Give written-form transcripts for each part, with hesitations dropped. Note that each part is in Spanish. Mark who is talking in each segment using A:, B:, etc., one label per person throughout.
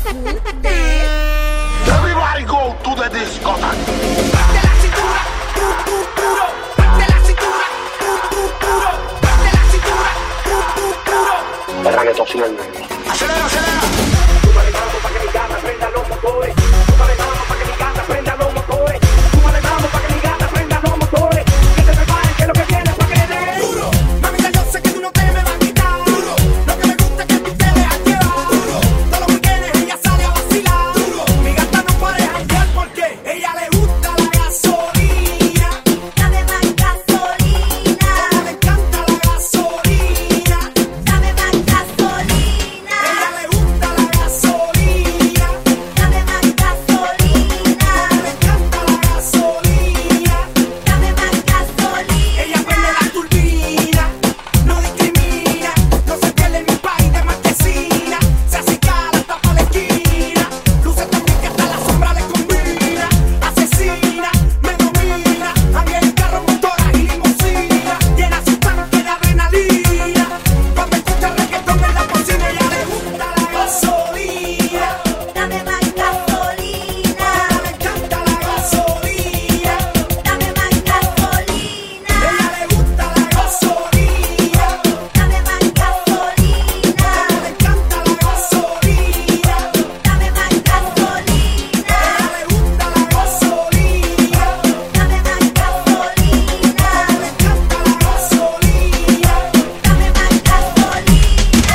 A: Everybody go to the discotheque.
B: Parte la cintura, puro. Parte la cintura, puro. Parte la cintura, puro.
A: El reggaetón sin el negro.
B: Acelera.
C: Súbale vamos pa' que mi gata prenda los motores. Súbale vamos pa' que mi gata prenda los motores. Súbale vamos pa' que mi gata prenda los motores. Que se preparen que lo que viene es pa' que dé duro.
B: Mamita, yo sé que tú no te me vas a quitar. Duro. Lo que me gusta es que tú te dejas llevar. Duro. Todos los weekends ella sale a vacilar. Duro. Mi gata no puede janguear porque ella le gusta la gasolina.
D: Dame más gasolina.
B: Ella le encanta la gasolina.
D: Dame más gasolina.
B: Ella le gusta la gasolina.
D: Dame más gasolina.
B: Le encanta la gasolina.
D: Dame más gasolina.
B: Ella prende la turbina, no discrimina, no se pierde en mi país de marquesina. Se acicala hasta pa' la esquina, luce tan bien que hasta la sombra le combina. Asesina, me domina, anda en carro, motoras y limusina. Llena su tanque de adrenalina. Cuando escucha reggaetón en la cocina, ella le gusta la gasolina.
D: Dame más gasolina.
B: Le encanta la gasolina.
D: Dame más gasolina.
B: Ella le gusta la gasolina.
D: Dame más gasolina.
B: Le encanta la gasolina.
D: Dame más gasolina.
B: Le gusta la gasolina.
D: Dame más gasolina.
B: Le encanta la gasolina.
D: Dame más gasolina.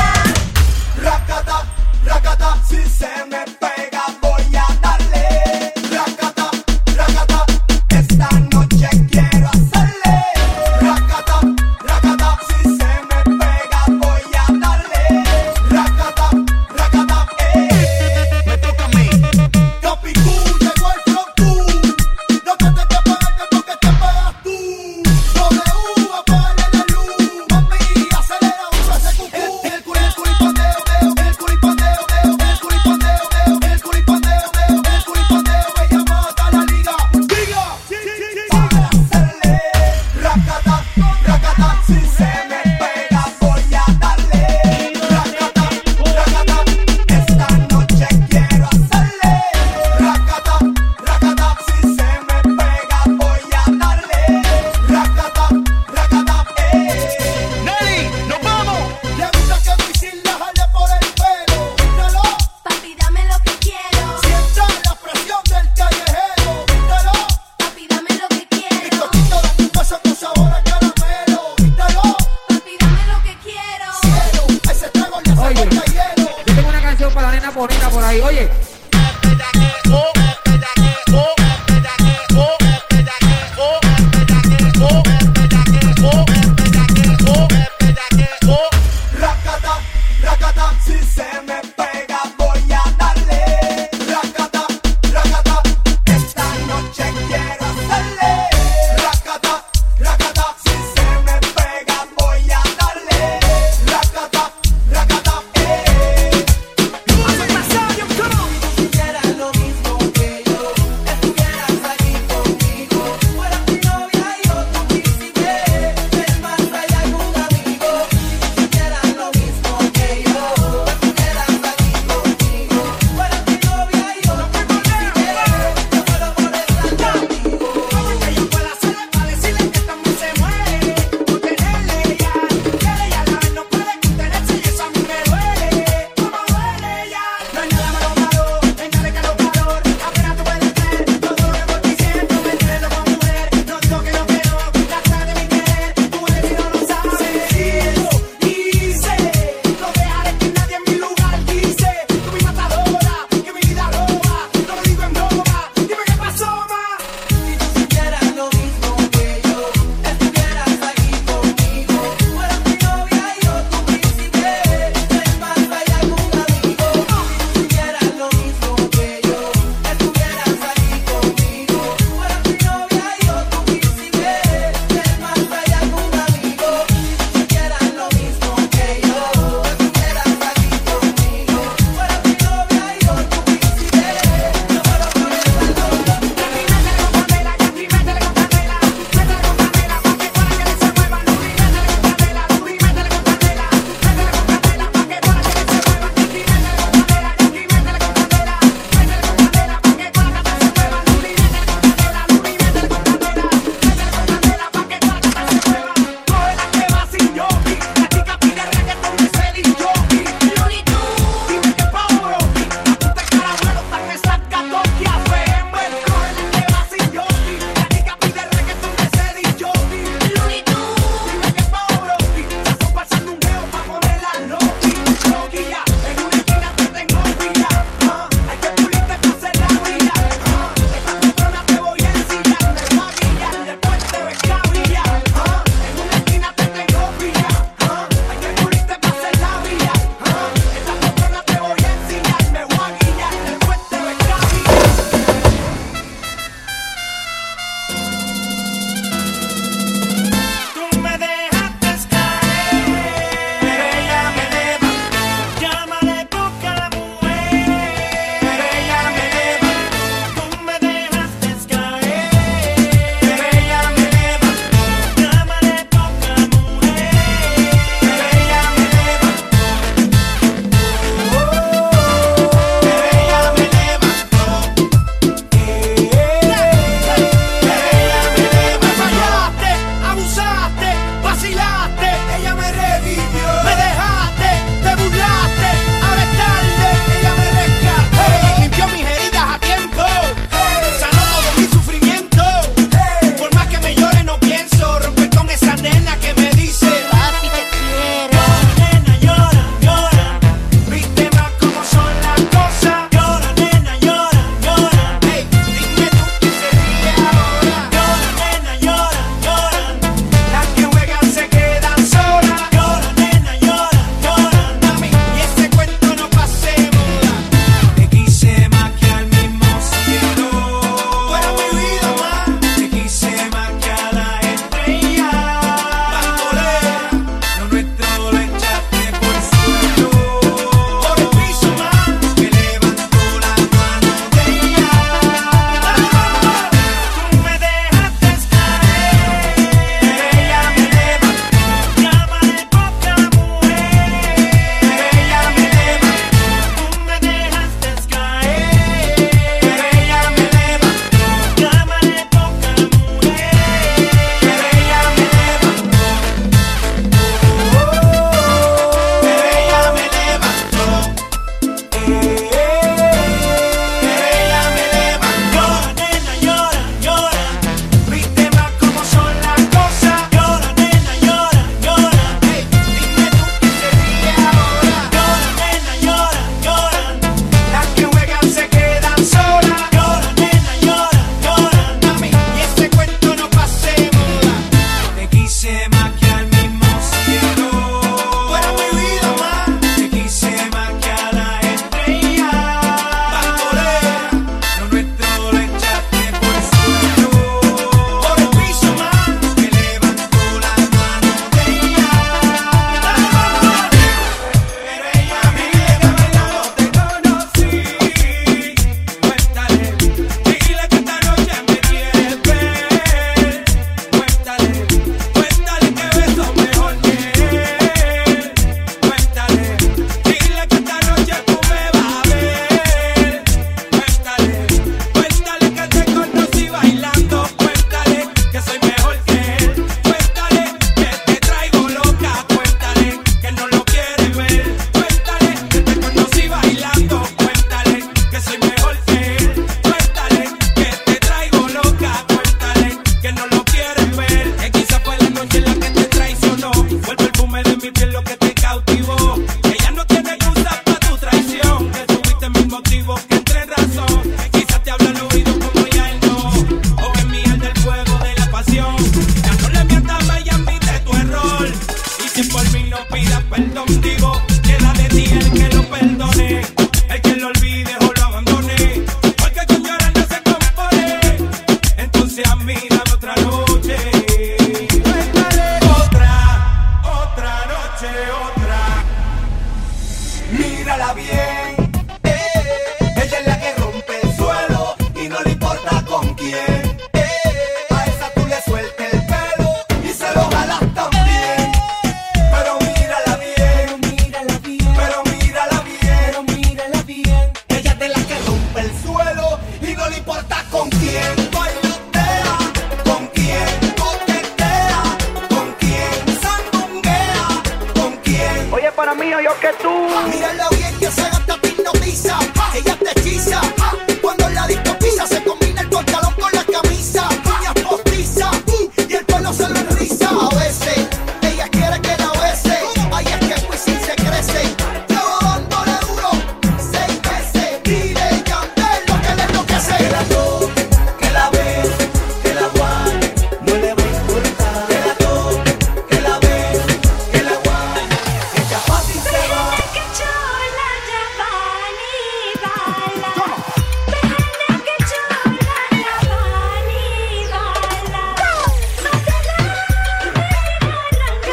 B: Racata, racata, si se me pega voy a darle. Racata, racata, esta noche quiero hacerle. Racata, racata, si se me pega voy a darle. Racata, racata, me toca a mí. Capicú, llegó el flow tú. No te tengas que pagarte porque te pagas tú. W, apaga la luz. Mami, acelera, usa ese cucú. El culipandeo, ella mata la liga. Diga, para hacerle. Racata, racata, si se me pega voy a darle. Racata, racata, esta noche quiero hacerle. Racata, racata, si se me pega voy a darle. Racata, racata, Nelly, nos vamos. Le gusta que Wisin la jale por el pelo. Míralo,
D: Papi, dame lo que quiero.
B: sienta la presión del callejero. Míralo,
D: Papi, dame lo que quiero.
B: bizcochito de tu casa con sabor a caramelo. Míralo,
D: Papi, dame lo que quiero.
B: cielo, a ese trago le hace
E: Oye.
B: falta hielo.
E: Yo tengo una canción para la nena bonita por ahí. Oye,
B: Racata, racata, si se me pega voy a darle. Racata, racata, esta noche quiero hacerle. Racata, racata, si se me pega voy a darle. Racata, racata,
C: Si hicieras lo mismo que yo, estuvieras aquí conmigo. Fueras mi novia y yo tu príncipe, del más allá y un amigo. Si hicieras lo mismo que yo, estuvieras aquí
B: mírala bien. Ella es la que rompe el suelo y no le importa con quién. A esa tú le sueltes el pelo y se lo jalas también. Pero mírala bien, pero mírala bien. Ella es de la que rompe el suelo y no le importa con quién. Bailotea, con quién coquetea, con quién sandunguea, con quién.
C: Oye, para mí, yo que tú.
B: Mírala bien que se gasta te hipnotiza. Ella te hechiza. Cuando la disco pisa se combina el pantalón con la camisa. Uñas postizas y el pelo se lo enriza. A veces ella quiere que la bese. Ahí es que Wisin se crece. Llevo dándole duro 6 meses. Dile Yandel lo que le enloquece. Que la toque, que la bese, que la guane, no le va a importar. Que la toque, que la bese, que la guane. Ella fácil se va.
D: Que chola Giovanni baila. Bene que chola Giovanni baila. Mátala, arranca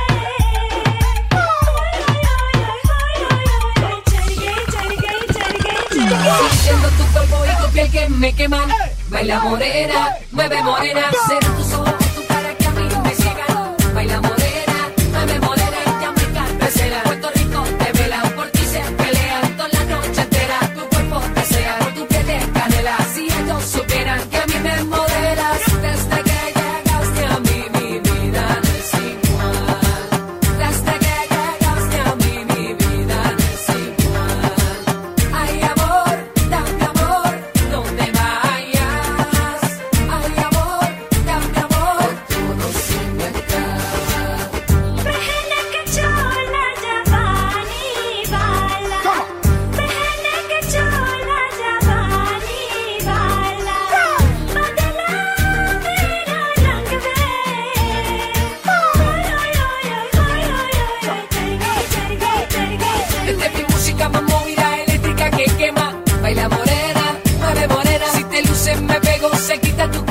F: Siendo tu cuerpo y tu piel que me queman. Baila morena, mueve morena. Será tus ojos, tu cara que a mí me ciegan. Baila morena, mueve morena. Y ya me encanta será. Puerto Rico te velan, por ti se pelean toda la noche entera. Tu cuerpo desea, por tu piel de canela. Si ellos supieran que a mí me modelas. Desde que llegaste a mí, mi vida no es igual. Desde que llegaste a mí, mi vida no es igual. Ay, amor, dame amor, no te vayas. Ay, amor, dame amor, todo se me acaba.
D: Bene que chola Giovanni baila. Bene que chola Giovanni baila. Mátala, mira, arranca
F: Esta es mi música más movida, eléctrica que quema. Baila morena, mueve morena. Si te luces me pego, se quita tu